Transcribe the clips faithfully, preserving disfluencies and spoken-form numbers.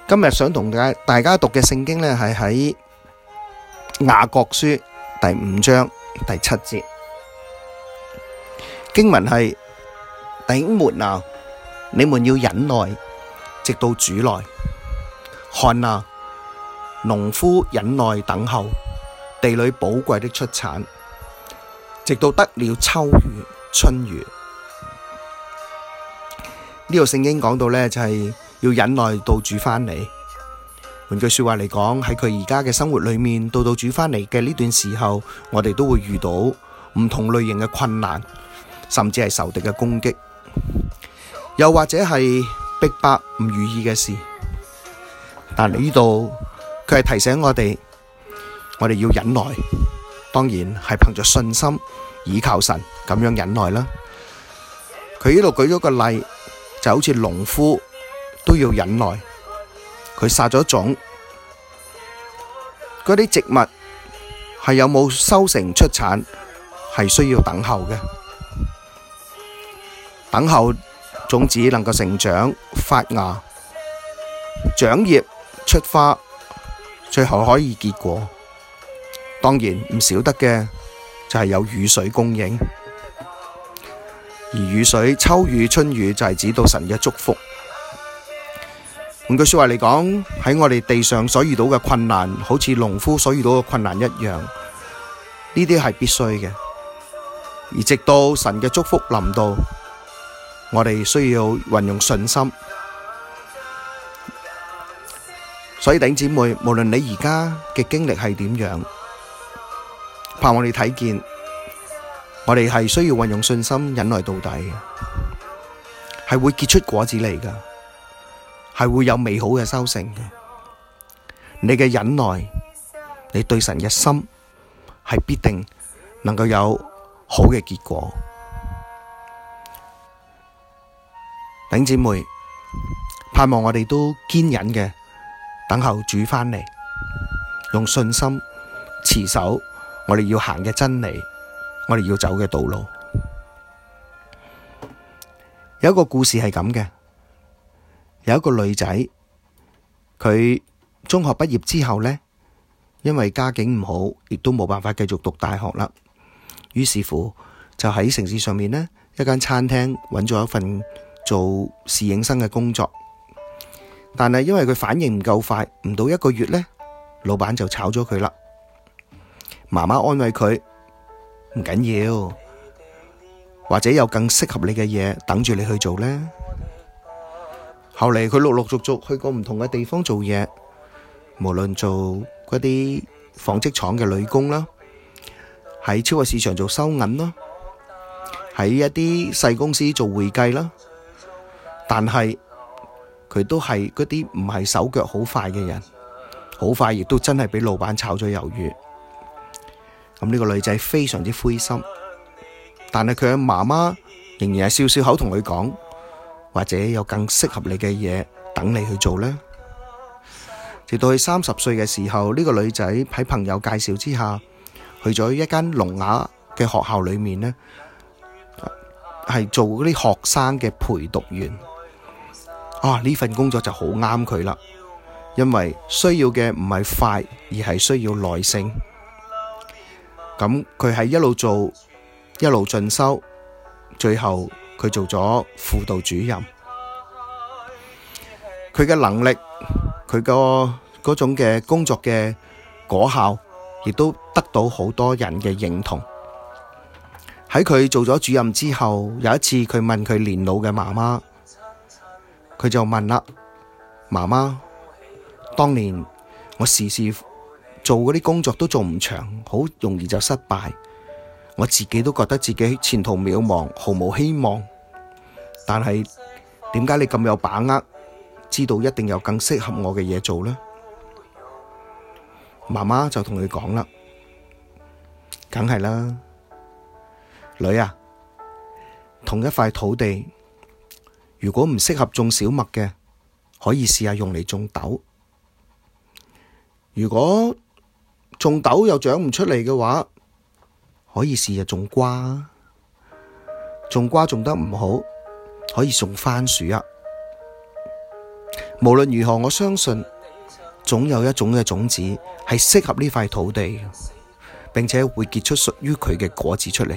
今日想同大家大家讀嘅聖經呢，係喺雅各書第五章第七節，經文係：弟兄們啊，你們要忍耐，直到主來。看啊，農夫忍耐等候地裏寶貴的出產，直到得了秋雨春雨。呢個聖經講到呢，就係要忍耐到主返嚟。換句說話嚟講，喺佢而家嘅生活裏面，到到主返嚟嘅呢段時候，我哋都會遇到唔同類型嘅困難，甚至係仇敵嘅攻擊，又或者係逼迫唔如意嘅事。但係呢度佢係提醒我哋，我哋要忍耐，當然係憑着信心倚靠神咁樣忍耐啦。佢呢度舉咗個例，就好似農夫都要忍耐，佢撒咗種，嗰啲植物係有冇收成出產，係需要等候嘅，等候種子能夠成長發芽長葉出花，最後可以結果。當然唔少得嘅就係有雨水供應，而雨水秋雨春雨就係指到神嘅祝福。換句說話嚟講，喺我哋地上所遇到嘅困難，好似農夫所遇到嘅困難一樣，呢啲係必須嘅。而直到神嘅祝福臨到，我哋需要運用信心。所以弟兄姊妹，無論你而家嘅經歷係點樣，盼望你睇見，我哋係需要運用信心忍耐到底嘅，係會結出果子嚟㗎，係會有美好嘅收成嘅。你嘅忍耐，你對神嘅心係必定能夠有好嘅結果。弟兄姊妹，盼望我哋都堅忍嘅等候主返嚟，用信心持守我哋要行嘅真理，我哋要走嘅道路。有一個故事係咁嘅，有一個女仔，佢中學畢業之後呢，因為家境唔好，亦都冇辦法繼續讀大學啦。於是乎，就喺城市上面呢一間餐廳揾咗一份做侍應生嘅工作。但係因為佢反應唔夠快，唔到一個月呢，老闆就炒咗佢啦。媽媽安慰佢，唔緊要，或者有更適合你嘅嘢等住你去做呢。後嚟佢陸陸續續去過唔同嘅地方做嘢，無論做嗰啲紡織廠嘅女工啦，喺超級市場做收銀啦，喺一啲細公司做會計啦，但係佢都係嗰啲唔係手腳好快嘅人，好快亦都真係俾老闆炒咗魷魚。咁呢個女仔非常之灰心，但係佢嘅媽媽仍然係笑笑口同佢講，或者有更適合你嘅嘢等你去做呢。直到佢三十歲嘅時候，呢個女仔喺朋友介紹之下，去咗一間聾啞嘅學校裏面呢，係做嗰啲學生嘅陪讀員。啊！呢份工作就好啱佢啦，因為需要嘅唔係快，而係需要耐性。咁佢係一路做，一路進修，最後佢做咗輔導主任。佢嘅能力，佢個嗰種嘅工作嘅果效，亦都得到好多人嘅認同。喺佢做咗主任之後，有一次佢問佢年老嘅媽媽。佢就問啦，媽媽，當年我時時做嗰啲工作都做唔長，好容易就失敗，我自己都覺得自己前途渺茫，毫無希望。但係點解你咁有把握，知道一定有更適合我嘅嘢做呢？媽媽就同佢講啦，梗係啦，女啊，同一塊土地，如果唔適合種小麥嘅，可以試下用嚟種豆。如果種豆又長唔出嚟嘅話，可以試下種瓜。種瓜種得唔好，可以種番薯啊。 無論如何，我相信總有一種嘅種子係適合呢塊土地，並且會結出屬於佢嘅果子出嚟。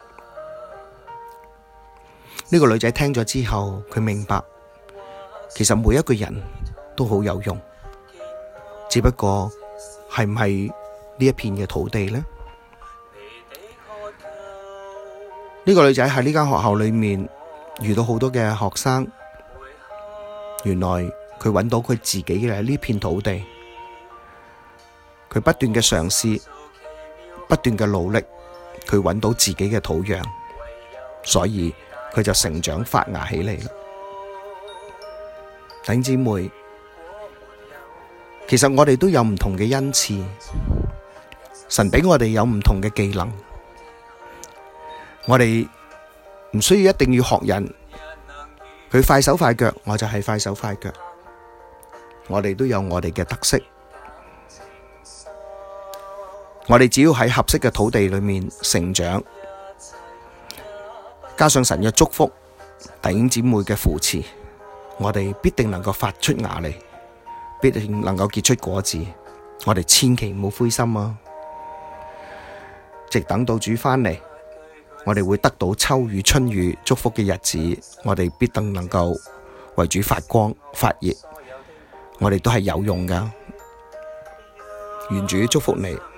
呢個女仔聽咗之後，佢明白，其實每一個人都好有用，只不過係唔係呢一片嘅土地呢？呢個女仔喺呢間學校裏面遇到好多嘅學生，原來佢揾到佢自己嘅呢片土地，佢不斷嘅嘗試，不斷嘅努力，佢揾到自己嘅土壤，所以佢就成長發芽起嚟啦。弟兄姊妹，其實我哋都有唔同嘅恩賜，神畀我哋有唔同嘅技能，我哋唔需要一定要學人，佢快手快腳，我就係快手快腳。我哋都有我哋嘅特色，我哋只要喺合適嘅土地裏面成長，加上神嘅祝福，弟兄姊妹嘅扶持，我哋必定能夠發出芽嚟，必定能夠結出果子。我哋千祈唔好灰心啊！直等到主返嚟，我哋會得到秋雨春雨祝福嘅日子，我哋必定能夠為主發光發熱。我哋都係有用㗎，願主祝福你。